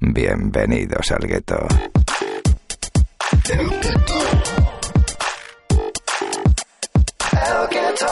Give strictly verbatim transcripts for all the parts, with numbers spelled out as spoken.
Bienvenidos al gueto. El gueto. El gueto.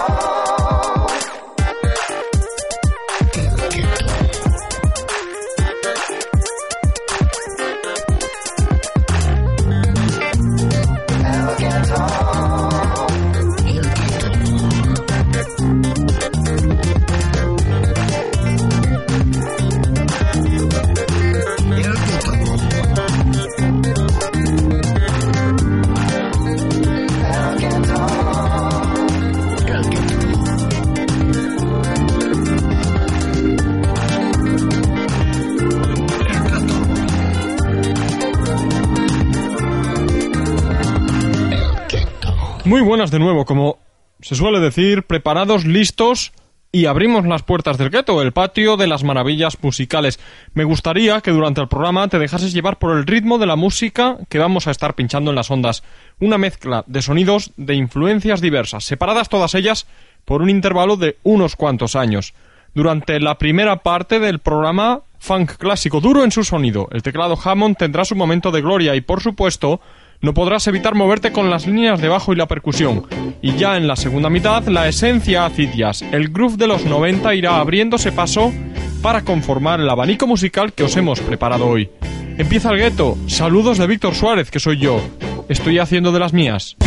Muy buenas de nuevo, como se suele decir, preparados, listos y abrimos las puertas del gueto, el patio de las maravillas musicales. Me gustaría que durante el programa te dejases llevar por el ritmo de la música que vamos a estar pinchando en las ondas. Una mezcla de sonidos de influencias diversas, separadas todas ellas por un intervalo de unos cuantos años. Durante la primera parte del programa, funk clásico duro en su sonido. El teclado Hammond tendrá su momento de gloria y, por supuesto, no podrás evitar moverte con las líneas de bajo y la percusión. Y ya en la segunda mitad, la esencia acid jazz, el groove de los noventa irá abriéndose paso para conformar el abanico musical que os hemos preparado hoy. Empieza el gueto. Saludos de Víctor Suárez, que soy yo. Estoy haciendo de las mías.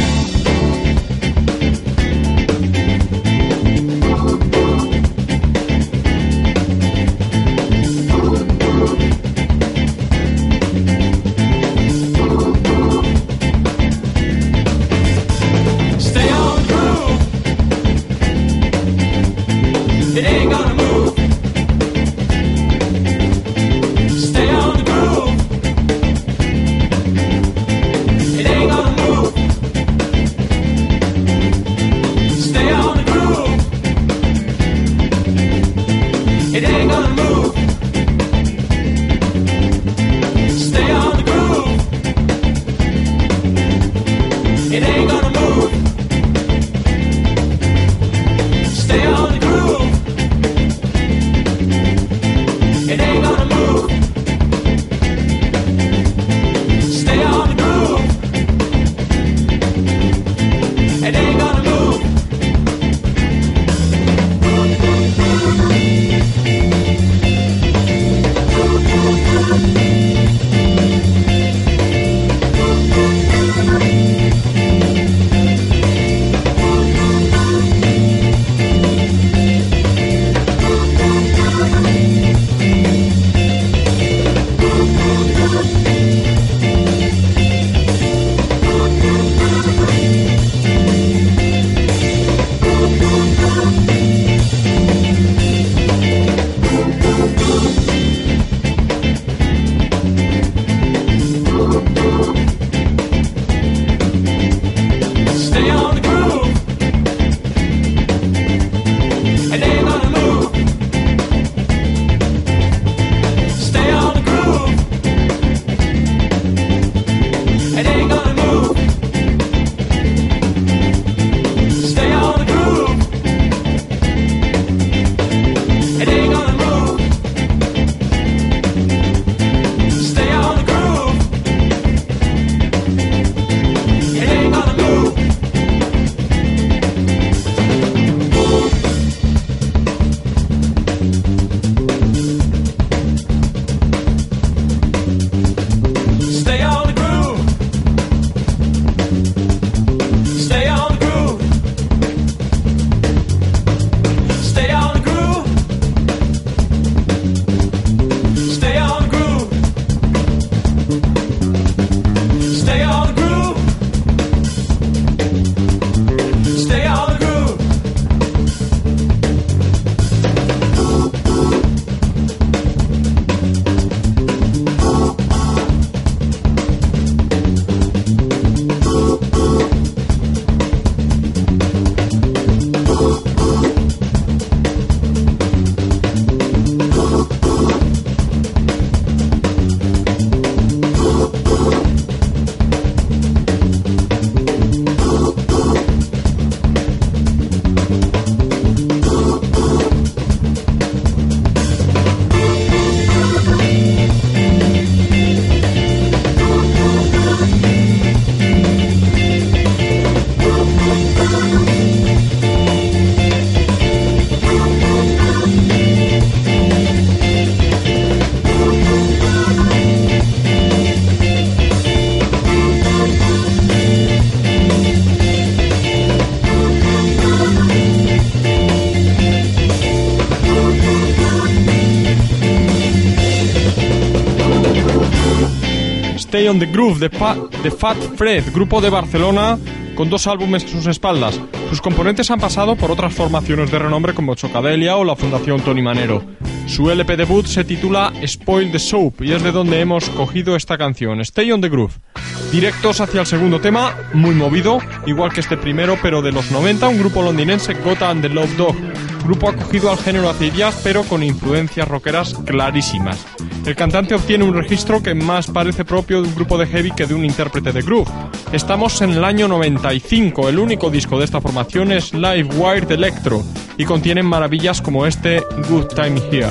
Stay on the Groove de, pa- de Fat Fred, grupo de Barcelona con dos álbumes a sus espaldas. Sus componentes han pasado por otras formaciones de renombre como Chocadelia o la Fundación Tony Manero. Su L P debut se titula Spoil the Soap y es de donde hemos cogido esta canción, Stay on the Groove. Directos hacia el segundo tema, muy movido, igual que este primero, pero de los noventa, un grupo londinense, Gota and the Love Dog. Grupo acogido al género acid jazz, pero con influencias rockeras clarísimas. El cantante obtiene un registro que más parece propio de un grupo de heavy que de un intérprete de groove. Estamos en el año noventa y cinco, el único disco de esta formación es Live Wired Electro y contienen maravillas como este Good Time Here.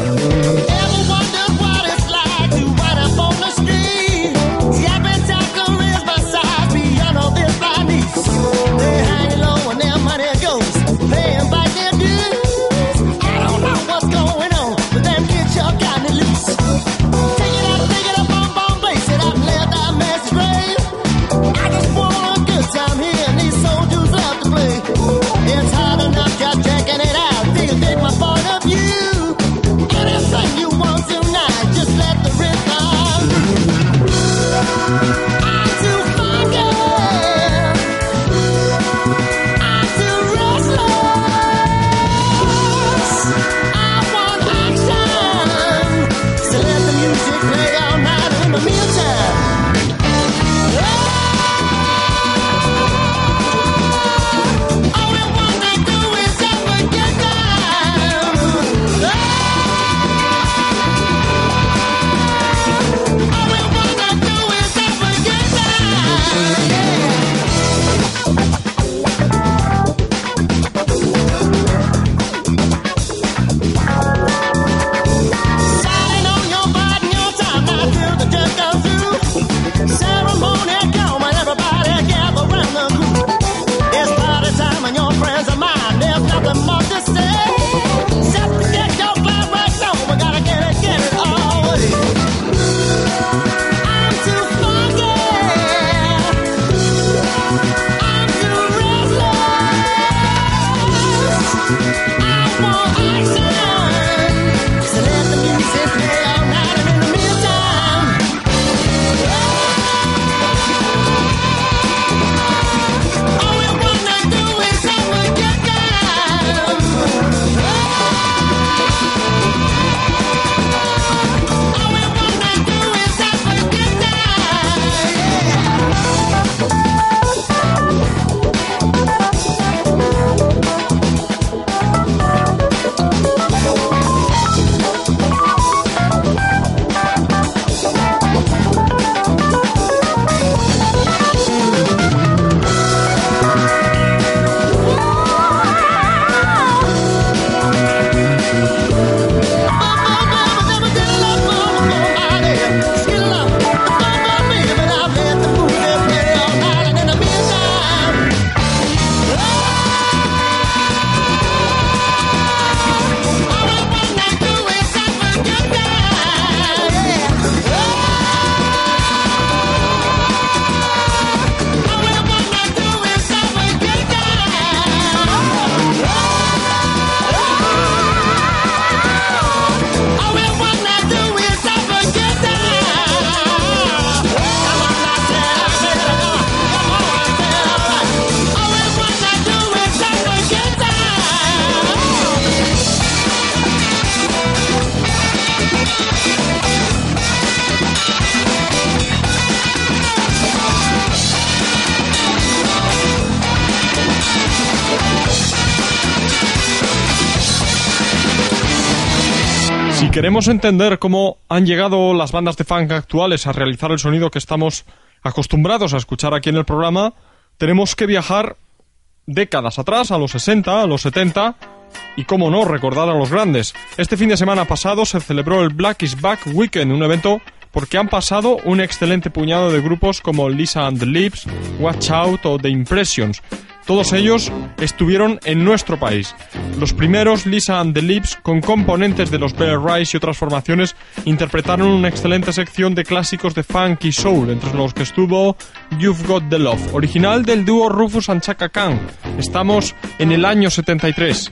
Si queremos entender cómo han llegado las bandas de funk actuales a realizar el sonido que estamos acostumbrados a escuchar aquí en el programa, tenemos que viajar décadas atrás, a los sesenta, a los setenta, y cómo no, recordar a los grandes. Este fin de semana pasado se celebró el Black is Back Weekend, un evento porque han pasado un excelente puñado de grupos como Lisa and the Lips, Watch Out o The Impressions. Todos ellos estuvieron en nuestro país. Los primeros, Lisa and the Lips, con componentes de los Bear Rise y otras formaciones, interpretaron una excelente sección de clásicos de funk y soul, entre los que estuvo You've Got the Love, original del dúo Rufus and Chaka Khan. Estamos en el año setenta y tres.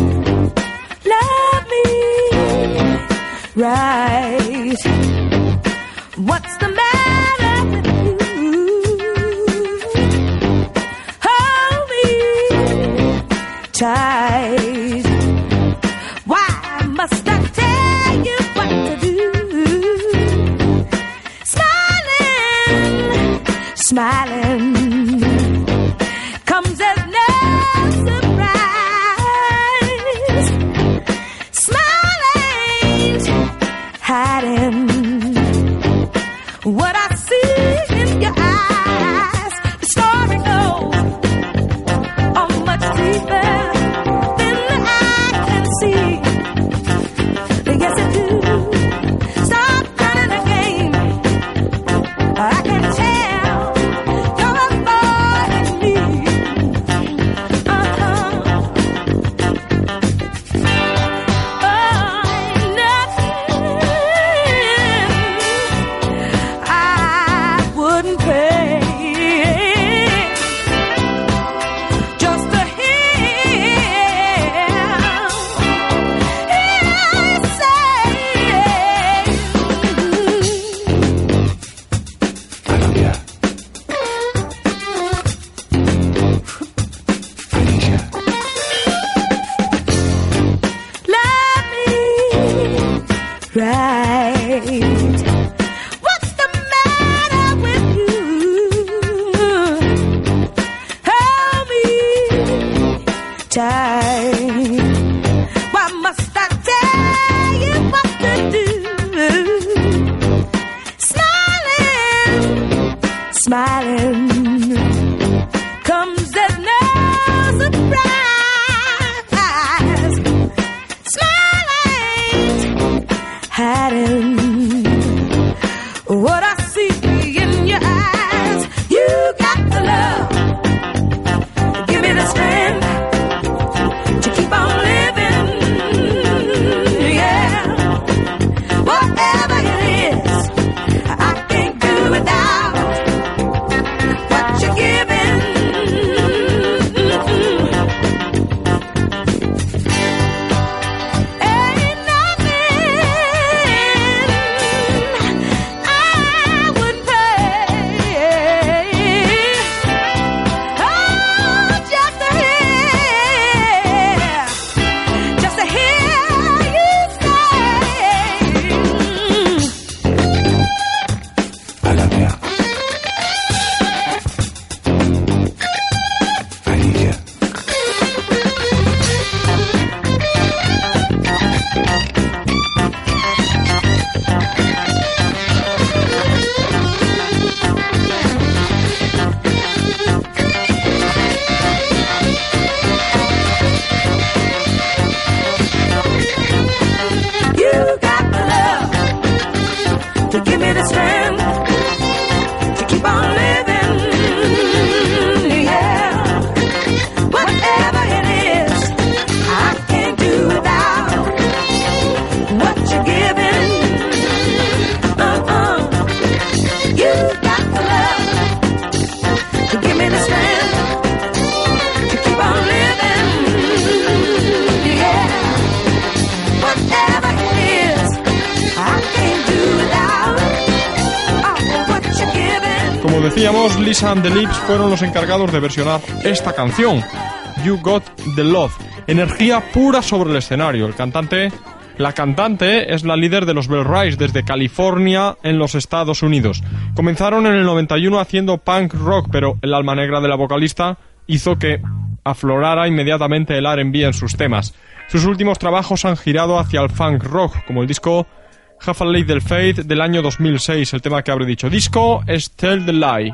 Love me right. What's the matter? right. What's the matter with you? Hold me tight. Why must I tell you what to do? Smiling, smiling comes as no surprise. Smiling, hiding what I see in your eyes. You got the love, give me the strength to keep on living. Yeah, whatever it is, I can't do without what you're giving. Ain't nothing I wouldn't pay. Oh, just to hear, just to hear you say, I love you. I need you. you got the love to give me the strength to keep on living. Yeah, whatever it is, I can't do without what you're giving. Uh-uh. You got the love to give me the strength to keep on living. Yeah, whatever it is, I can't do without oh, what you're giving. Como decíamos, Lisa and the Lips fueron los encargados de versionar esta canción, You Got the Love. Energía pura sobre el escenario. El cantante, la cantante es la líder de los Bell Rise desde California en los Estados Unidos. Comenzaron en el noventa y uno haciendo punk rock, pero el alma negra de la vocalista hizo que aflorara inmediatamente el R and B en sus temas. Sus últimos trabajos han girado hacia el funk rock, como el disco Have a Little Faith del año dos mil seis. El tema que habré dicho disco es Tell the Lie.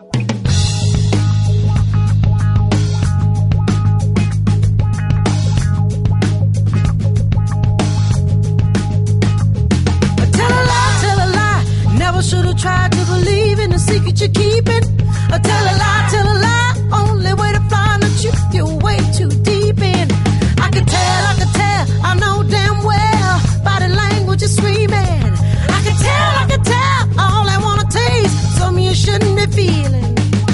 Tell a lie, tell a lie. Never should have tried to believe in the secret you're keeping. Uh, Tell a lie, tell a lie. Only way to find the truth you're way too deep in. I can tell, I can tell. I know damn well. Body language is screaming. I can tell, I can tell. All I wanna taste. Something you shouldn't be feeling.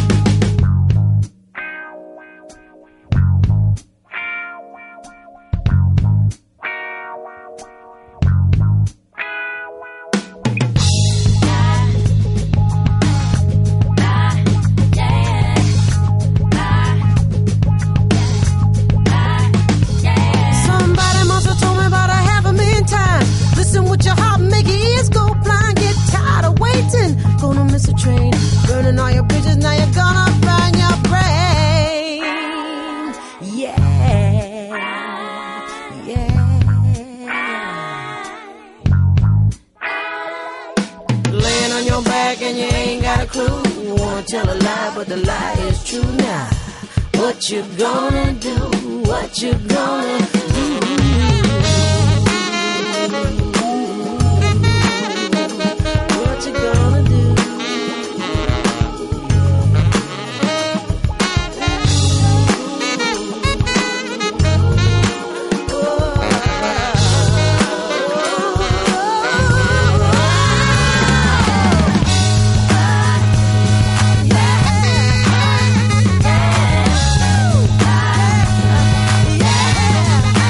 Somebody must have told me about a half a million times. Listen with your heart, make your ears go blind. Get tired of waiting, gonna miss a train. Burning all your bridges, now you're gonna burn your brain. Yeah, yeah. Laying on your back and you ain't got a clue. You wanna tell a lie, but the lie is true now. What you gonna do? What you gonna do? What you gonna do? Yeah.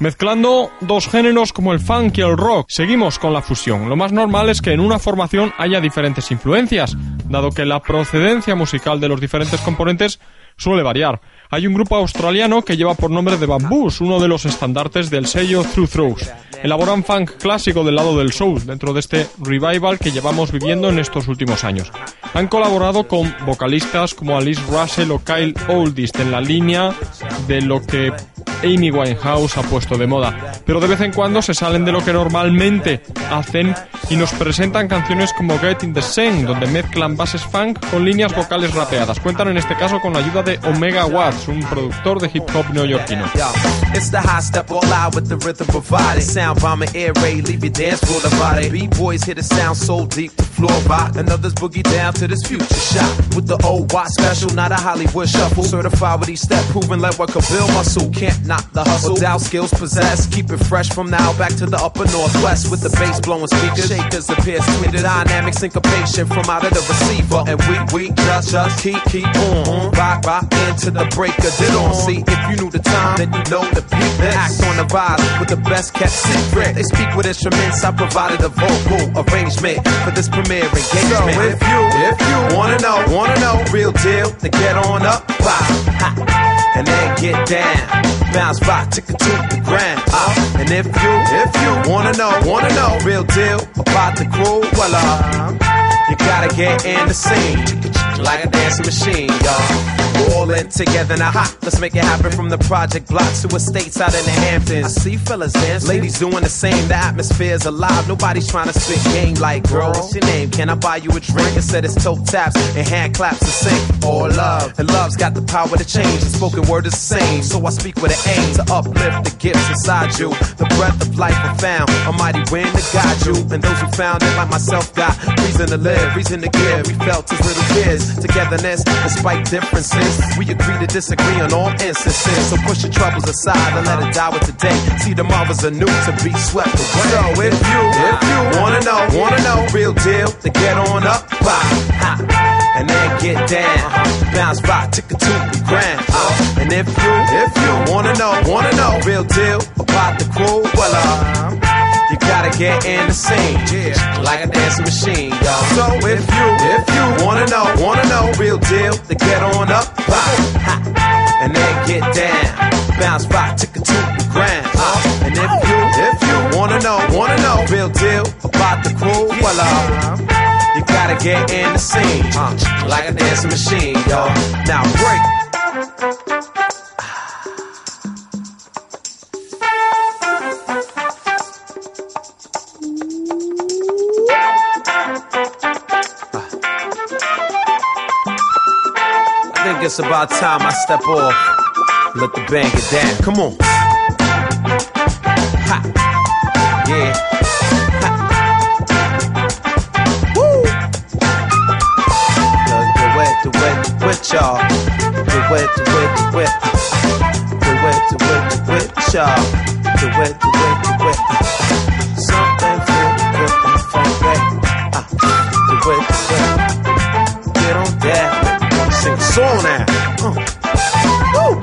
Mezclando dos géneros como el funk y el rock, seguimos con la fusión. Lo más normal es que en una formación haya diferentes influencias, dado que la procedencia musical de los diferentes componentes suele variar. Hay un grupo australiano que lleva por nombre The Bamboos, uno de los estandartes del sello True Throws. Elaboran funk clásico del lado del soul, dentro de este revival que llevamos viviendo en estos últimos años. Han colaborado con vocalistas como Alice Russell o Kyle Oldist en la línea de lo que Amy Winehouse ha puesto de moda, pero de vez en cuando se salen de lo que normalmente hacen y nos presentan canciones como Get in the Scene, donde mezclan bases funk con líneas vocales rapeadas. Cuentan en este caso con la ayuda de Omega Watts, un productor de hip hop neoyorquino. It's the high step all out with the rhythm provided. Sound bomber air raid, leave your dance floor divided. B-boys hit a sound so deep the floor rock, and others boogie down to this future shot. With the old Watt special, not a Hollywood shuffle. Certified with each step, proving like what could build muscle. Can't knock the hustle, doubt skills possessed. Keep it fresh from now back to the upper northwest. With the bass blowing speakers, shakers appear tweeted. Dynamic syncopation from out of the receiver. And we, we just, just keep, keep on. Rock, rock into the breaker, did on. See, if you knew the time, then you know the peak. Then act on the rise with the best kept secret. They speak with instruments, I provided a vocal arrangement for this premiere engagement. So if you, if you wanna know, wanna know, real deal, then get on up, pop, and then get down. Bounce back, tick it to the ground. Uh, and if you, if you wanna know, wanna know, real deal about the crew, well, uh, you gotta get in the scene, like a dancing machine, y'all. All in together now, hot. Let's make it happen from the project blocks to estates out in the Hamptons. I see fellas dance, ladies doing the same. The atmosphere's alive. Nobody's trying to spit game like, girl, what's your name? Can I buy you a drink? Instead it's toe taps and hand claps to sing. All love, and love's got the power to change. The spoken word is the same, so I speak with an aim to uplift the gifts inside you. The breath of life I found, a mighty wind to guide you. And those who found it, like myself, got reason to live, reason to give. We felt as little kids, togetherness despite differences. We agree to disagree on all instances. So push your troubles aside and let it die with the day. See, tomorrow's a new to be swept away. So if you, if you wanna know, wanna know, real deal, then get on up, pop, and then get down. Bounce back, tick it to the ground. Uh, and if you, if you wanna know, wanna know, real deal about the crew, well, uh, you gotta get in the scene, yeah, like a dancing machine, y'all. So if you, if you wanna know, wanna know, real deal, then get on up, pop, and then get down. Bounce back, tick it to the ground. Uh, and if you, if you wanna know, wanna know, real deal about the crew, well, uh, you gotta get in the scene, uh, like a dancing machine, y'all. Now break. I think it's about time I step off. Let the band get down. Come on. Ha. Yeah. Ha. Woo. Do it, do it, do it, y'all. Do it, do it, do it. Do it, do it, do it, y'all. Do it, do it, do it. Something feel good in the funky. Do it, do it. Get on that. Sing a song now. Uh. Woo.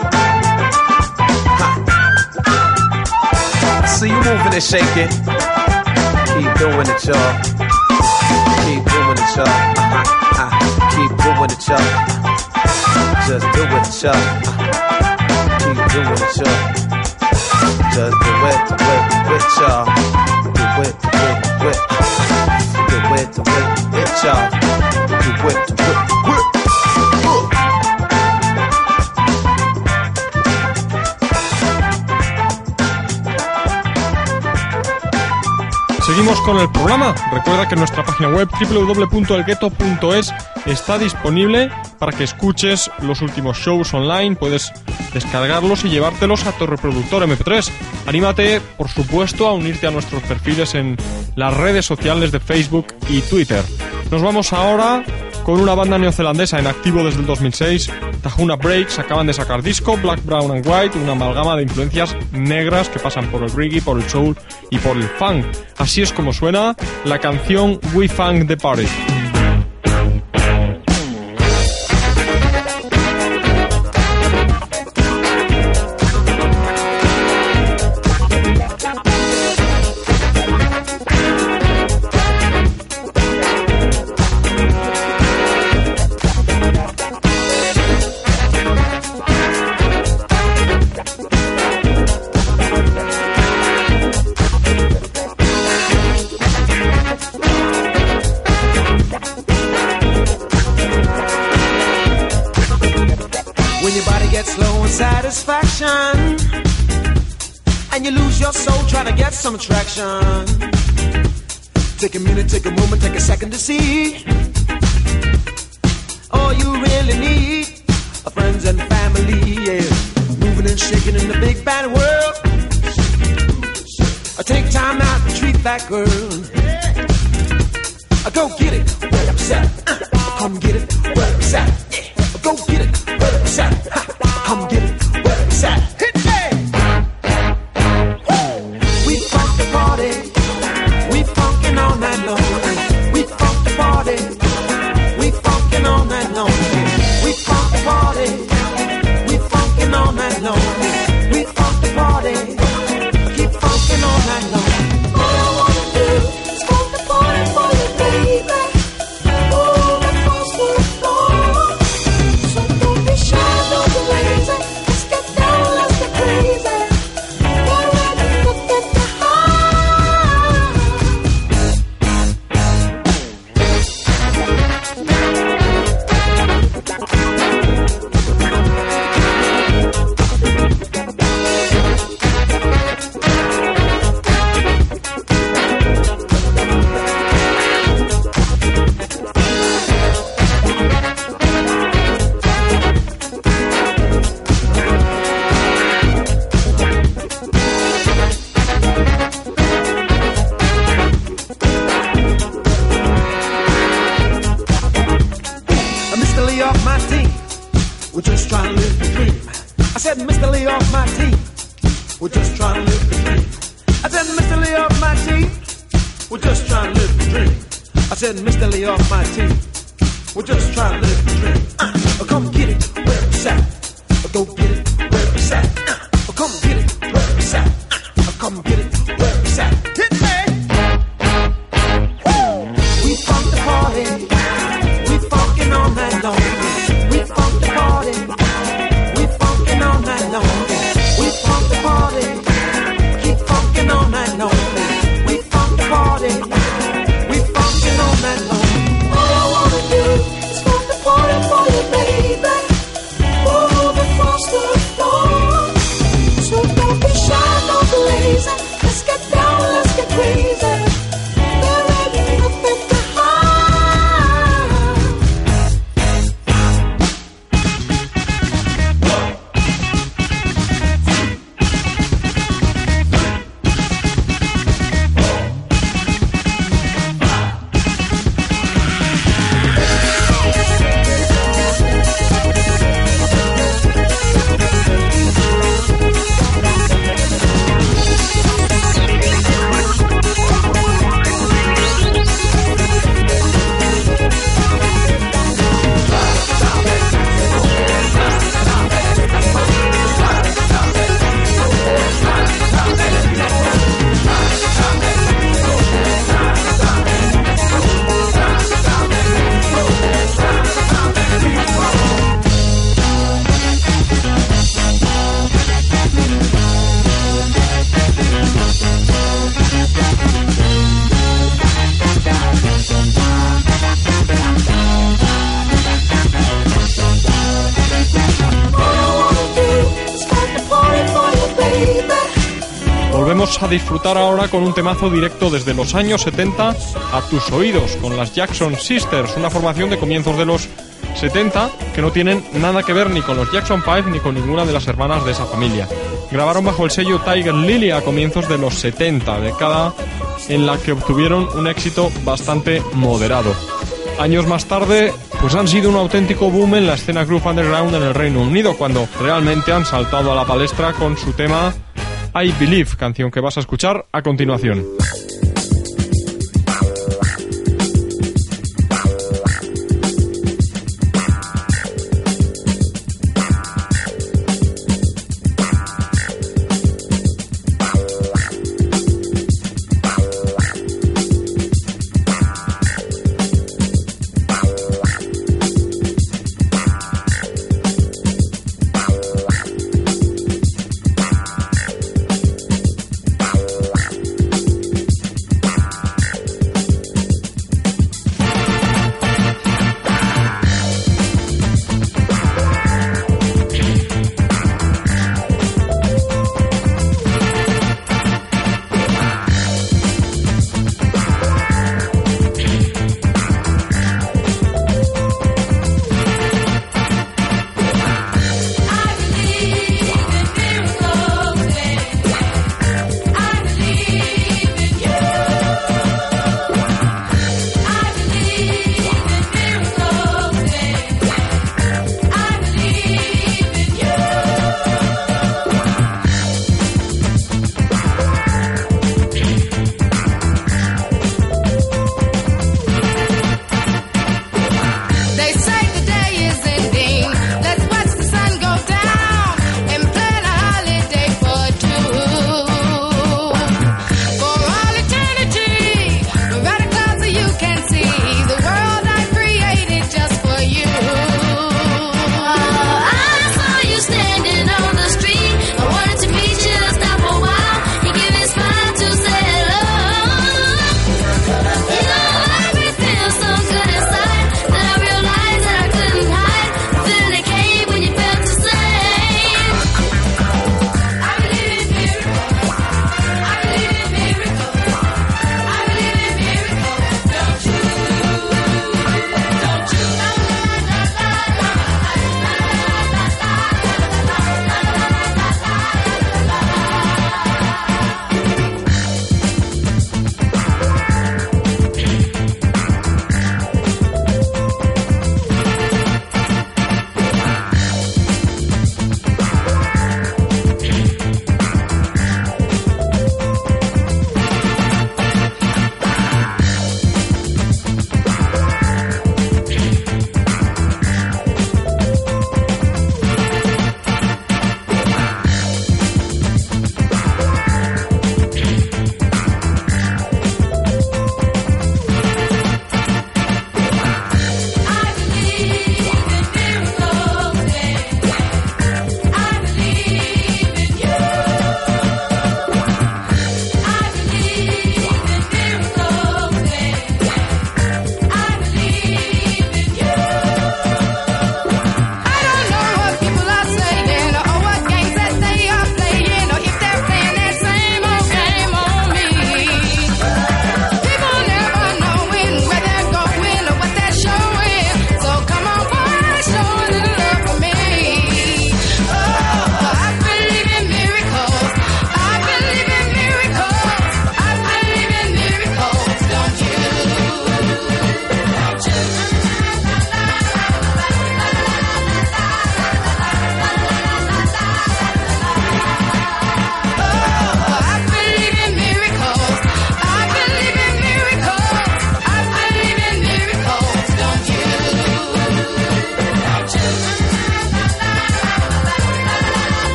See you moving and shaking. Keep doing it, y'all. Keep doing it, y'all. Uh-huh. Uh-huh. Keep doing it, y'all. Just do it, y'all. Uh-huh. Keep doing it, y'all. Just do it, do it, do it, y'all. Do it, do it, do it. Do it, do it, do it, y'all. Do it, do it, do it. Seguimos con el programa. Recuerda que nuestra página web doble u doble u doble u punto el gueto punto es está disponible para que escuches los últimos shows online. Puedes descargarlos y llevártelos a tu reproductor eme pe tres. Anímate, por supuesto, a unirte a nuestros perfiles en las redes sociales de Facebook y Twitter. Nos vamos ahora con una banda neozelandesa en activo desde el dos mil seis, Tahuna Breaks. Acaban de sacar disco, Black, Brown and White, una amalgama de influencias negras que pasan por el reggae, por el soul y por el funk. Así es como suena la canción We Funk the Party. slow and satisfaction, and you lose your soul trying to get some attraction. Take a minute, take a moment, take a second to see all you really need are friends and family, yeah. Moving and shaking in the big bad world. I take time out to treat that girl. I go get it, where it's at. Uh, come get it, where it's at. Yeah. Go get it, where it's at. Ha. Come get it, where it's at. Hit me! Woo. We funk the party. We funkin' all night long. We funk the party. We funkin' all night long. We funk the party. We funkin' all night long. We funk the party. Keep funkin' all night long. All I wanna do is funk the party for you, baby. Move across the floor. So don't be shy, don't be lazy. Let's get down, let's get crazy. Get ready to get the Mister Lee off my team, we're just trying to live the dream. I said, Mister Lee off my team, we're just trying to live the dream. I said, Mister Lee off my team, we're just trying to live the dream. I said, Mister Lee off my team, we're just trying to live the dream. Uh, come get it where it's at. Go get it where it's at. Uh, come get it where it's at. Uh, come get it where it's at. Hit me! Woo! We funk the party. We funkin' all night long. We funk the party. We funkin' all night long. We funk the party. Keep funkin' all night long. We funk the party. We funkin' all night long. All I wanna do is funk the party for you, baby. Move across the floor. So don't be shy, don't be lazy. Let's get down, let's get crazy. There ain't nothing to hide. Volvemos a disfrutar ahora con un temazo directo desde los años setenta a tus oídos, con las Jackson Sisters, una formación de comienzos de los setenta que no tienen nada que ver ni con los Jackson Five ni con ninguna de las hermanas de esa familia. Grabaron bajo el sello Tiger Lily a comienzos de los setenta, década en la que obtuvieron un éxito bastante moderado. Años más tarde, pues han sido un auténtico boom en la escena groove underground en el Reino Unido, cuando realmente han saltado a la palestra con su tema I Believe, canción que vas a escuchar a continuación.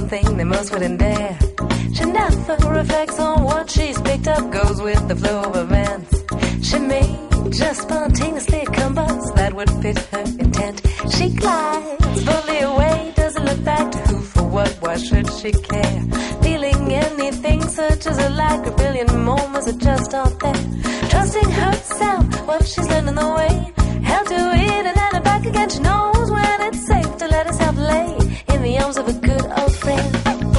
thing that most wouldn't dare. She never reflects on what she's picked up, goes with the flow of events. She may just spontaneously combust, that would fit her intent. She glides fully away, doesn't look back to who for what, why should she care? Feeling anything such as a lack, a billion moments that just aren't there. Trusting herself, what she's learned on the way, held to it and then back again. She knows when it's safe to let herself lay in the arms of a good old friend.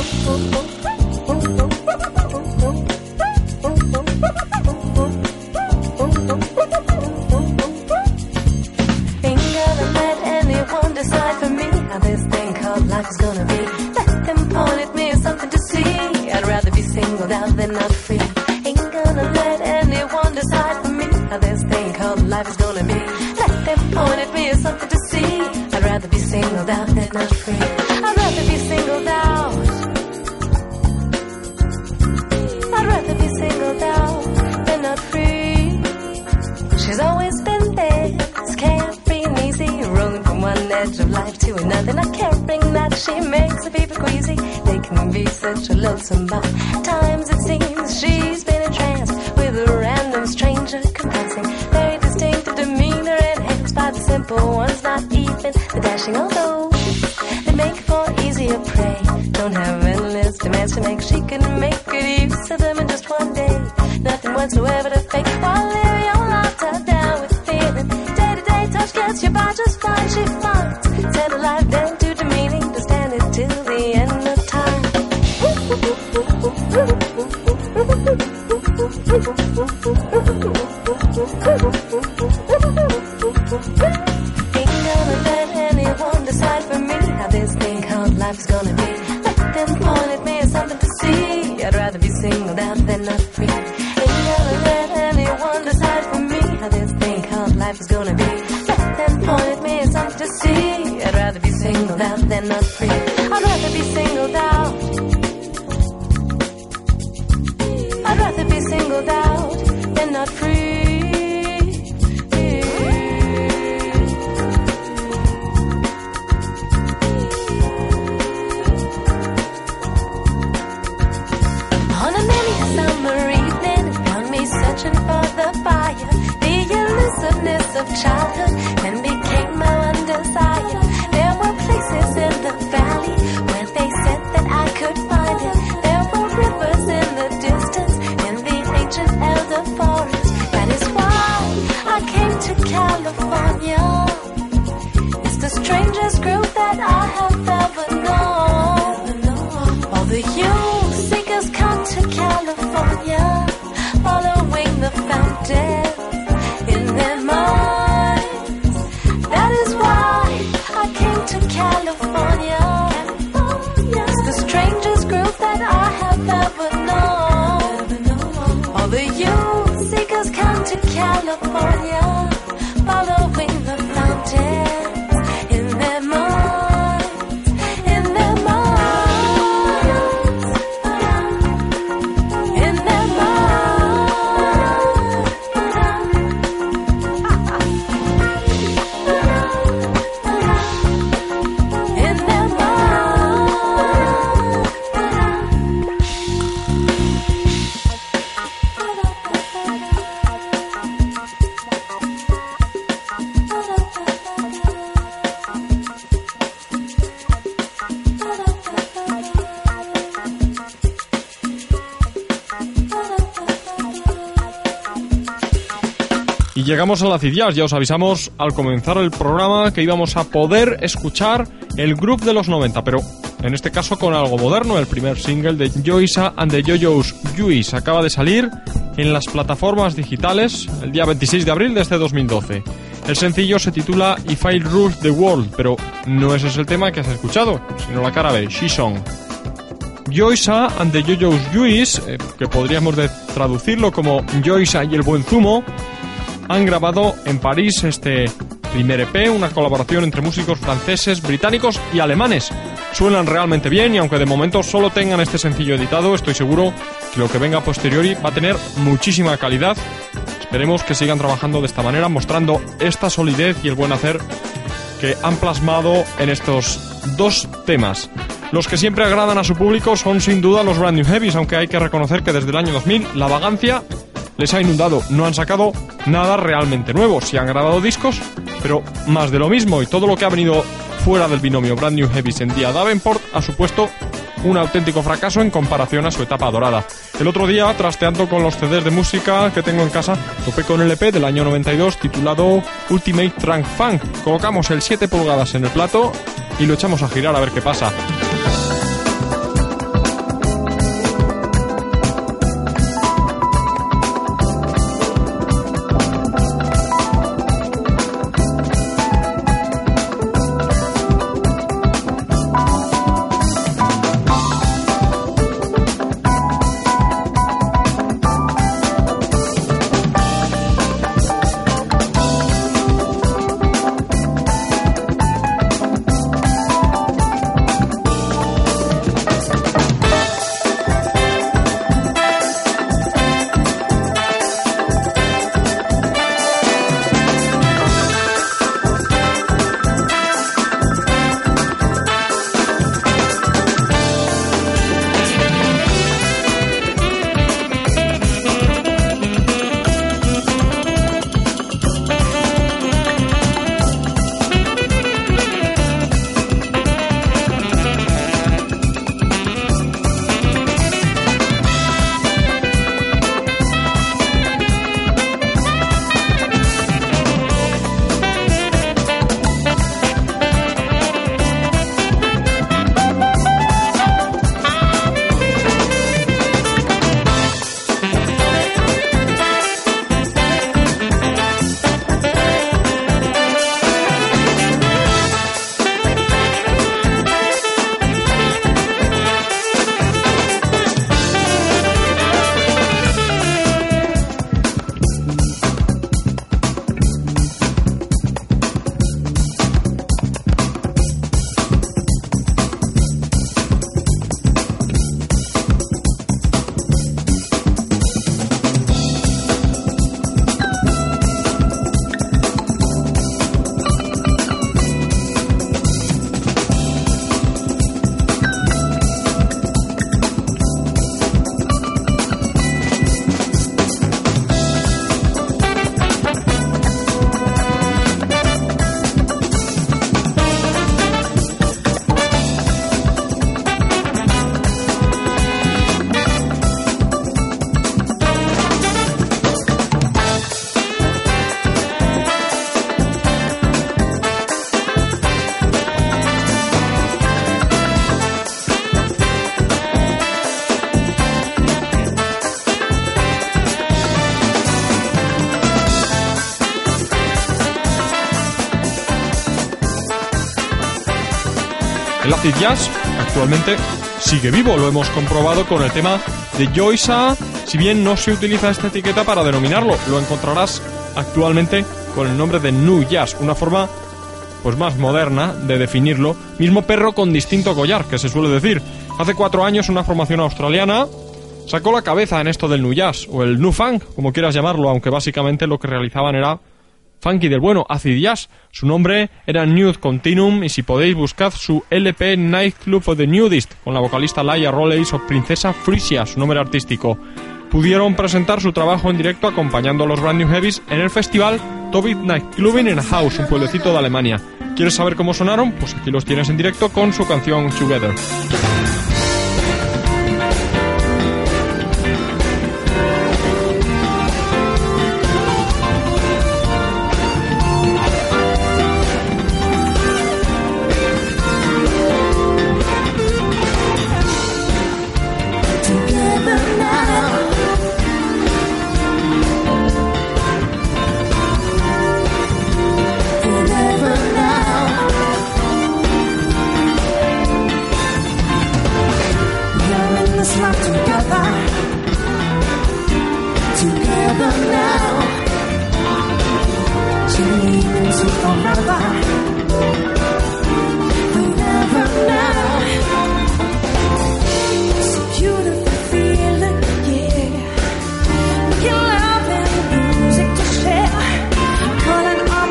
Ain't gonna let anyone decide for me how this thing called life is gonna be. Let them point at me as something to see. I'd rather be singled out than not free. Ain't gonna let anyone decide for me how this thing called life is gonna be. Let them point at me as something to see. I'd rather be singled out than not free. I'd rather be singled out. I'd rather be singled out than not free. She's always been there, it's carefree and easy, rolling from one edge of life to another, not caring that she makes the people queasy. They can be such a loathsome, but times it seems she's been entranced with a random stranger compassing. Very distinctive demeanor enhanced by the simple ones, not even the dashing old those that make for easier prey. Don't have endless demands to make, she can make good use of them in just one day. Nothing whatsoever to fake, while live your life tied down with feeling. Day to day touch gets you by just fine, she finds. Set a life down to demeaning, to stand it till the end of time. Ain't gonna let anyone decide for me how this thing called life is gonna be. Let them point at me as something to see. I'd rather be singled out than not free. Ain't gonna let anyone decide for me how this thing called life is gonna be. Let them point at me as something to see. I'd rather be singled out than not free. I'd rather be singled out. I'd rather be singled out than not free. On a many summer evening, found me searching for the fire. The elusiveness of childhood then became my one desire. There were places in the valley where they said that I could find it. There were rivers in the distance in the ancient elder forest. That is why I came to California. It's the strangest grove that I have ever known. All the youth seekers come to California, following the fountain in their minds. That is why I came to California. It's the strangest grove that I have ever known. All the youth seekers come to California, following the fountain in their minds, in their minds, in their in their Y llegamos a la Acid Jazz. Ya os avisamos al comenzar el programa que íbamos a poder escuchar el groove de los noventa, pero en este caso con algo moderno. El primer single de Joysa and the Yo-Yo's Juice acaba de salir en las plataformas digitales el día veintiséis de abril de este dos mil doce. El sencillo se titula If I Rule the World, pero no ese es el tema que has escuchado, sino la cara B, She Song. Joysa and the Yo-Yo's Juice, eh, que podríamos de traducirlo como Joysa y el buen zumo, han grabado en París este primer E P, una colaboración entre músicos franceses, británicos y alemanes. Suenan realmente bien y aunque de momento solo tengan este sencillo editado, estoy seguro que lo que venga a posteriori va a tener muchísima calidad. Esperemos que sigan trabajando de esta manera, mostrando esta solidez y el buen hacer que han plasmado en estos dos temas. Los que siempre agradan a su público son sin duda los Brand New Heavies, aunque hay que reconocer que desde el año dos mil la vagancia les ha inundado. No han sacado nada realmente nuevo. Sí han grabado discos, pero más de lo mismo, y todo lo que ha venido fuera del binomio Brand New Heavies en día Davenport ha supuesto un auténtico fracaso en comparación a su etapa dorada. El otro día, trasteando con los C Ds de música que tengo en casa, topé con el L P del año noventa y dos titulado Ultimate Trunk Funk. Colocamos el siete pulgadas en el plato y lo echamos a girar a ver qué pasa. El acid jazz actualmente sigue vivo, lo hemos comprobado con el tema de Joysa. Si bien no se utiliza esta etiqueta para denominarlo, lo encontrarás actualmente con el nombre de Nu Jazz, una forma pues más moderna de definirlo. Mismo perro con distinto collar, que se suele decir. Hace cuatro años una formación australiana sacó la cabeza en esto del Nu Jazz, o el Nu Funk, como quieras llamarlo, aunque básicamente lo que realizaban era funky del bueno, acid jazz. Su nombre era Nude Continuum, y si podéis buscad su L P Nightclub of the Nudist, con la vocalista Laia Rolleys o Princesa Frisia, su nombre artístico. Pudieron presentar su trabajo en directo acompañando a los Brand New Heavies en el festival Tobit Nightclubing in Haus, un pueblecito de Alemania. ¿Quieres saber cómo sonaron? Pues aquí los tienes en directo con su canción Together.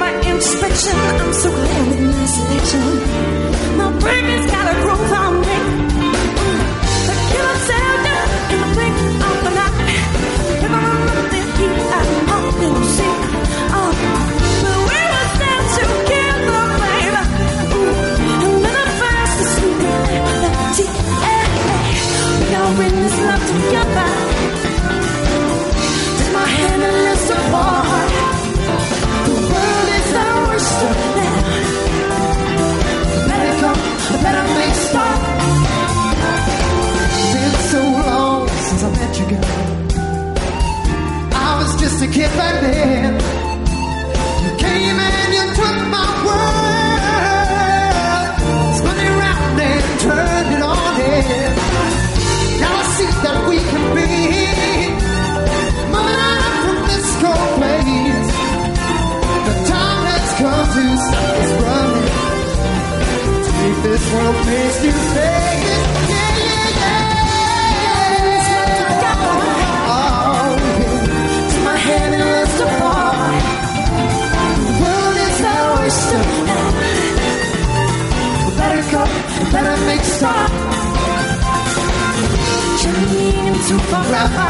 I'm so glad with my selection. My brain has got a groove on me. this world makes you say it. Yeah, yeah, yeah. Oh, yeah. To my head and let's depart. The world is our oyster. We better go, we better make stop. Journeying into forever.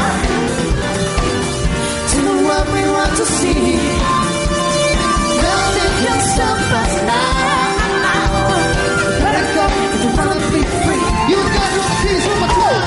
To what we want to see. Nothing can stop us now. Better go if you wanna be free. You got your keys on my toe.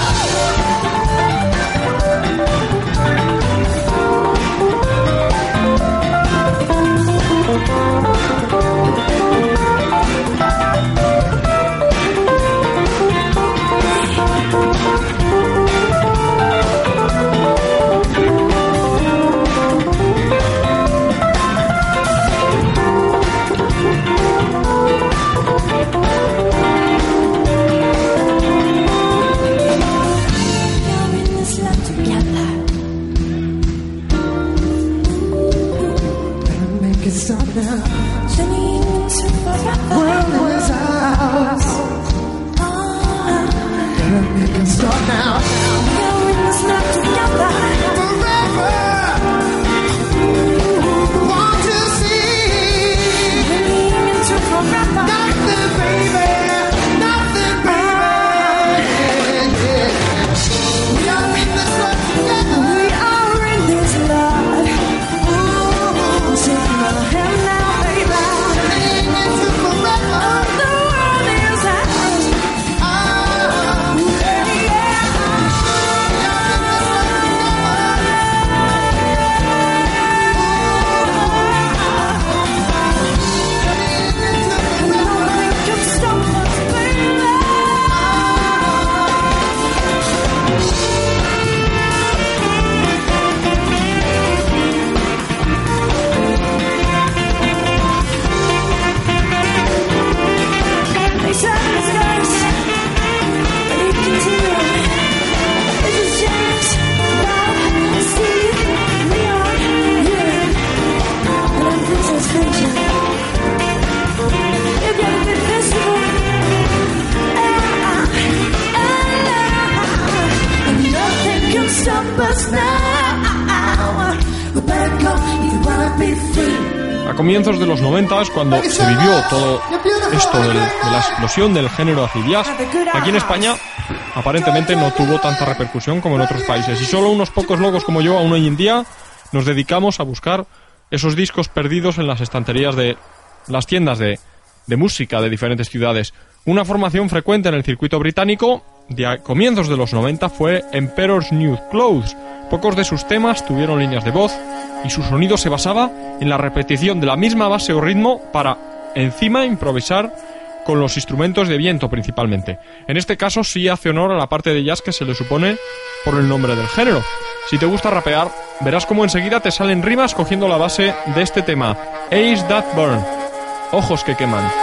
A comienzos de los noventa es cuando se vivió todo esto del, de la explosión del género acid jazz. Aquí en España aparentemente no tuvo tanta repercusión como en otros países y solo unos pocos locos como yo aún hoy en día nos dedicamos a buscar esos discos perdidos en las estanterías de las tiendas de, de música de diferentes ciudades. Una formación frecuente en el circuito británico de a comienzos de los noventa fue Emperor's New Clothes. Pocos de sus temas tuvieron líneas de voz y su sonido se basaba en la repetición de la misma base o ritmo para encima improvisar con los instrumentos de viento principalmente. En este caso sí hace honor a la parte de jazz que se le supone por el nombre del género. Si te gusta rapear, verás cómo enseguida te salen rimas cogiendo la base de este tema, Eyes That Burn, ojos que queman.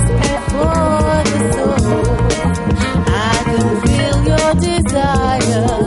Desire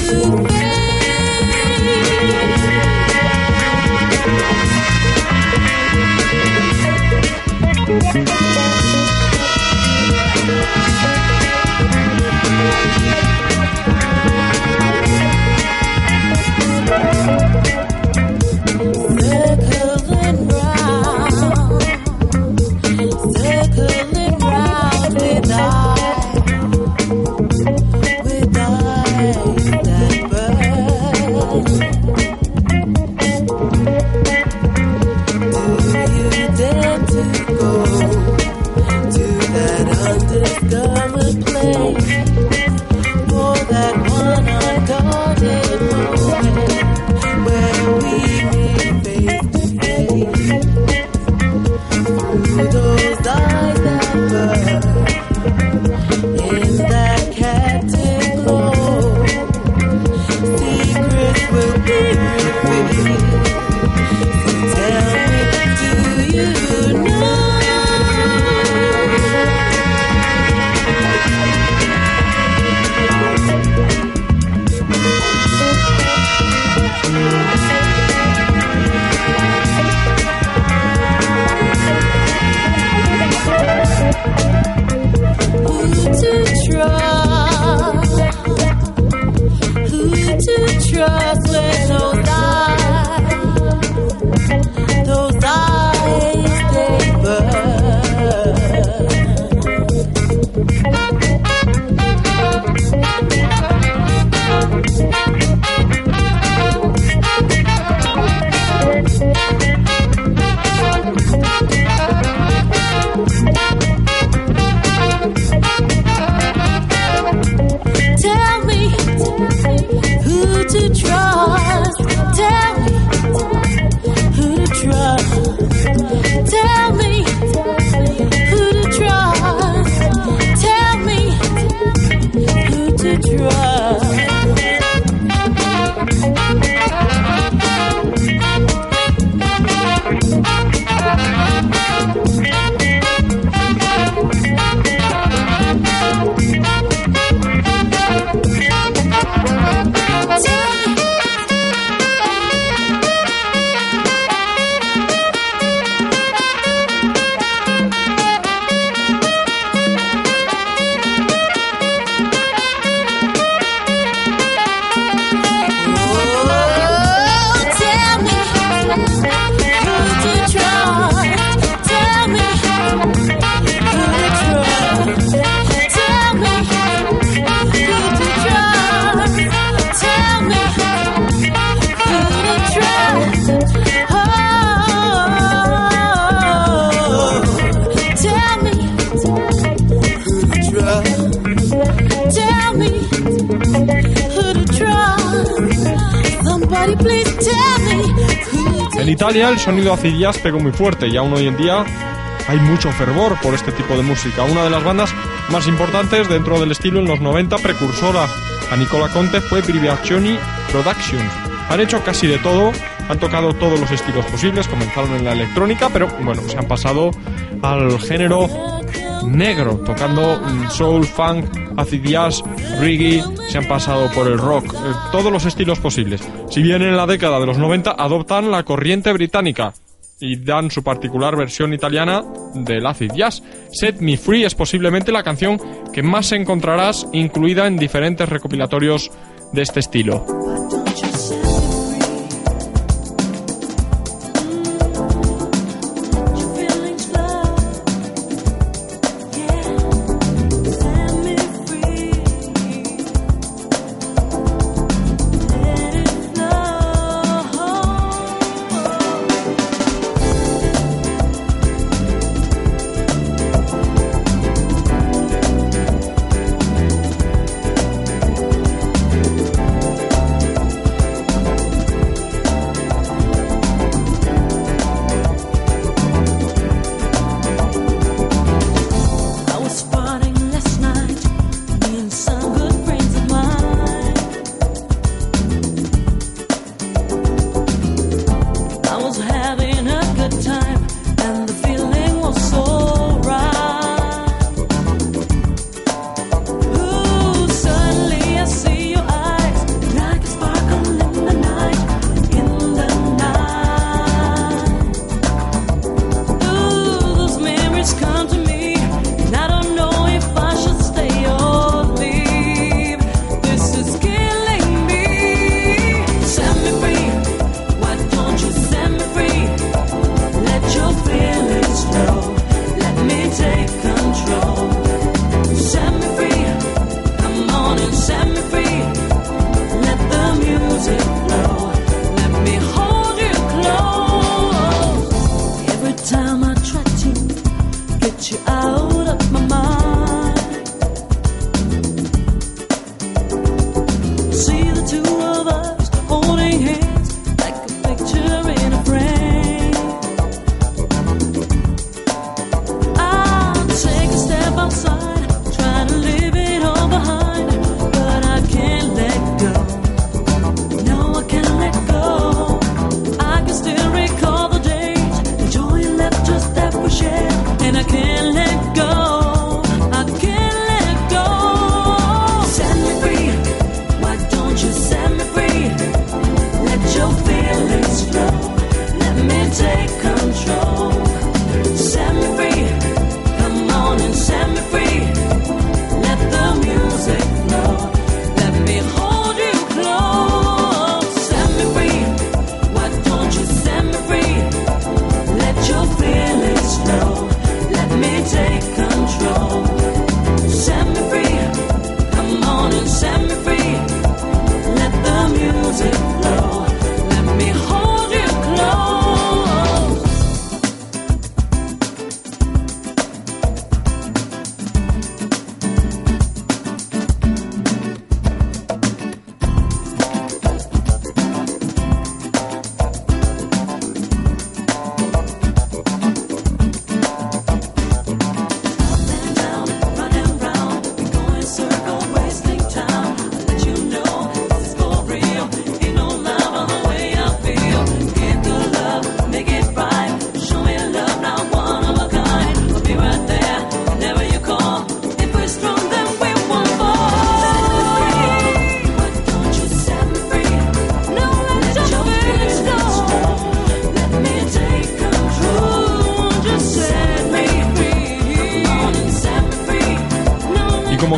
En Italia el sonido acid jazz pegó muy fuerte y aún hoy en día hay mucho fervor por este tipo de música. Una de las bandas más importantes dentro del estilo en los noventa, precursora a Nicola Conte, fue Briviaccioni Productions. Han hecho casi de todo, han tocado todos los estilos posibles, comenzaron en la electrónica, pero bueno, se han pasado al género negro, tocando soul, funk, acid jazz, reggae, se han pasado por el rock, eh, todos los estilos posibles. Si bien en la década de los noventa adoptan la corriente británica y dan su particular versión italiana del acid jazz. Set Me Free es posiblemente la canción que más encontrarás incluida en diferentes recopilatorios de este estilo.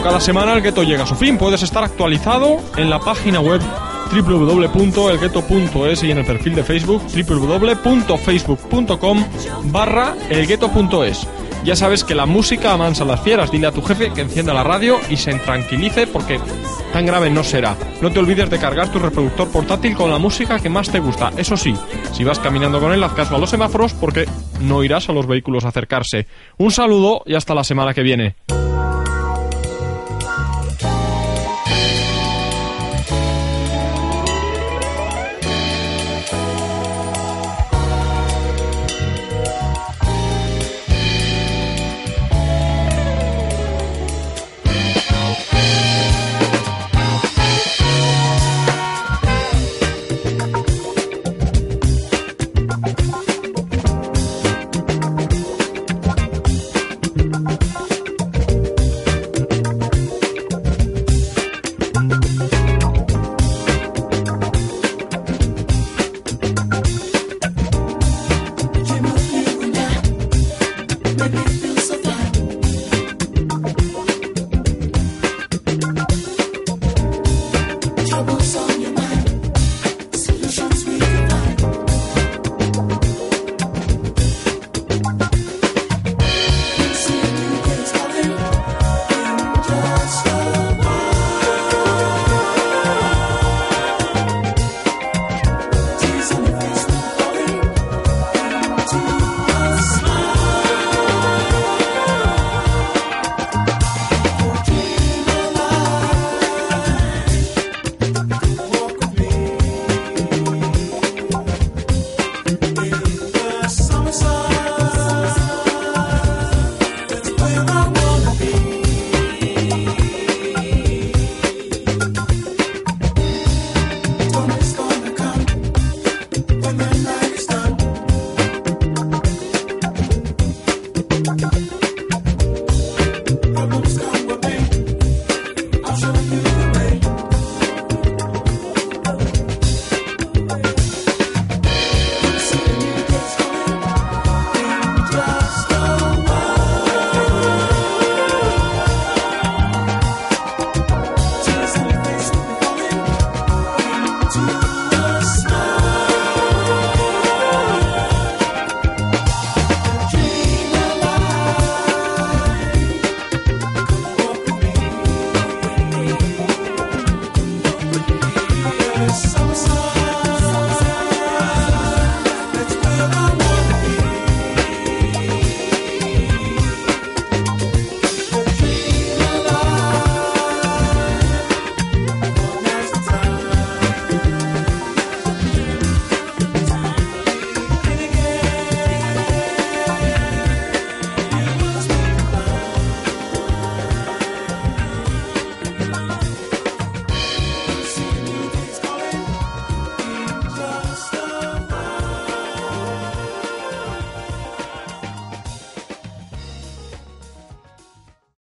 cada semana el gueto llega a su fin. Puedes estar actualizado en la página web doble u doble u doble u punto el gueto punto es y en el perfil de Facebook doble u doble u doble u punto facebook punto com barra el gueto punto es. Ya sabes que la música amansa a las fieras. Dile a tu jefe que encienda la radio y se tranquilice, porque tan grave no será. No te olvides de cargar tu reproductor portátil con la música que más te gusta. Eso sí, si vas caminando con él, haz caso a los semáforos, porque no irás a los vehículos a acercarse. Un saludo y hasta la semana que viene. Yes.